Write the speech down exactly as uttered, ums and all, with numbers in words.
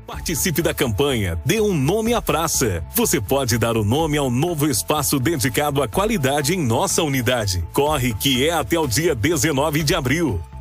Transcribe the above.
Participe da campanha Dê um Nome à Praça. Você pode dar o nome ao novo espaço dedicado à qualidade em nossa unidade. Corre que é até o dia dezenove de abril.